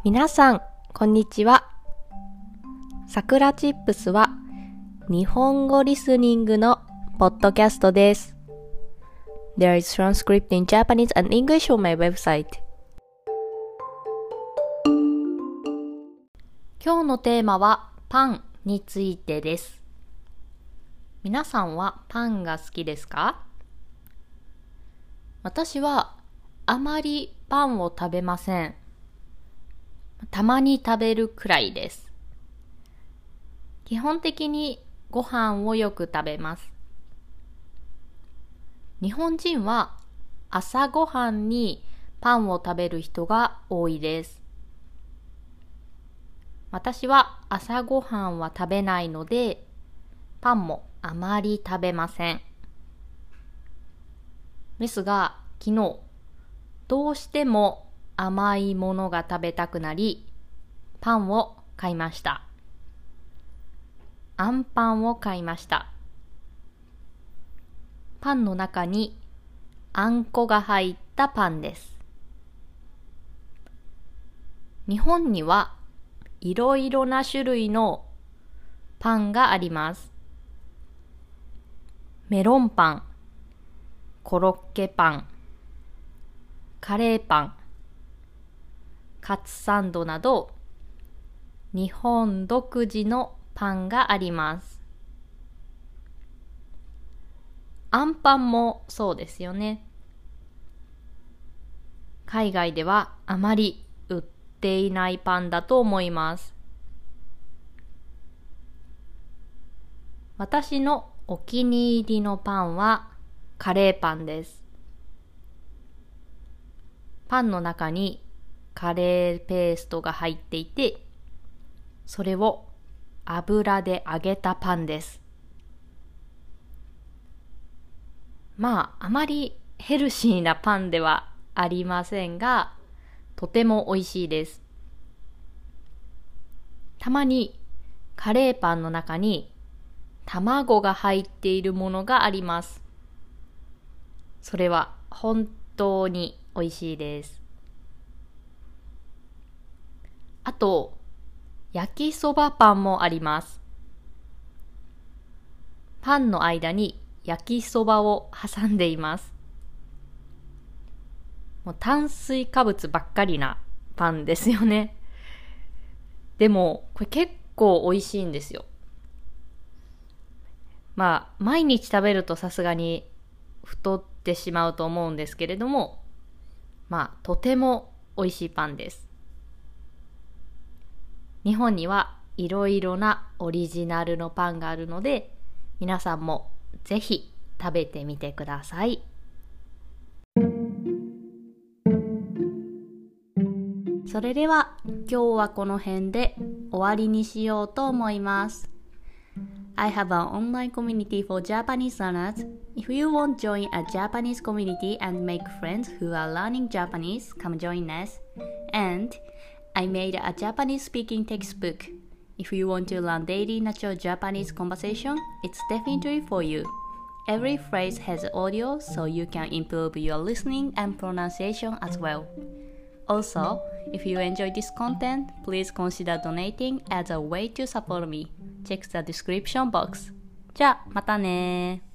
皆さん、こんにちは。さくらチップスは日本語リスニングのポッドキャストです。There is transcript in Japanese and English on my website. 今日のテーマはパンについてです。皆さんはパンが好きですか？私はあまりパンを食べません。たまに食べるくらいです。基本的にご飯をよく食べます。日本人は朝ごはんにパンを食べる人が多いです。私は朝ごはんは食べないので、パンもあまり食べません。ですが、昨日、どうしても甘いものが食べたくなり、パンを買いました。あんパンを買いました。パンの中にあんこが入ったパンです。日本にはいろいろな種類のパンがあります。メロンパン、コロッケパン、カレーパン、カツサンドなど日本独自のパンがあります。あんパンもそうですよね。海外ではあまり売っていないパンだと思います。私のお気に入りのパンはカレーパンです。パンの中にカレーペーストが入っていて、それを油で揚げたパンです。あまりヘルシーなパンではありませんが、とても美味しいです。たまにカレーパンの中に卵が入っているものがあります。それは本当に美味しいです。あと、焼きそばパンもあります。パンの間に焼きそばを挟んでいます。もう炭水化物ばっかりなパンですよね。でも、これ結構美味しいんですよ。毎日食べるとさすがに太ってしまうと思うんですけれども、とても美味しいパンです。日本にはいろいろなオリジナルのパンがあるので、皆さんもぜひ食べてみてください。それでは今日はこの辺で終わりにしようと思います。I have an online community for Japanese learners. If you want to join a Japanese community and make friends who are learning Japanese, come join us. And I made a Japanese speaking textbook. If you want to learn daily natural Japanese conversation, it's definitely for you. Every phrase has audio, so you can improve your listening and pronunciation as well. Also, if you enjoy this content, please consider donating as a way to support me. Check the description box. じゃあ、またね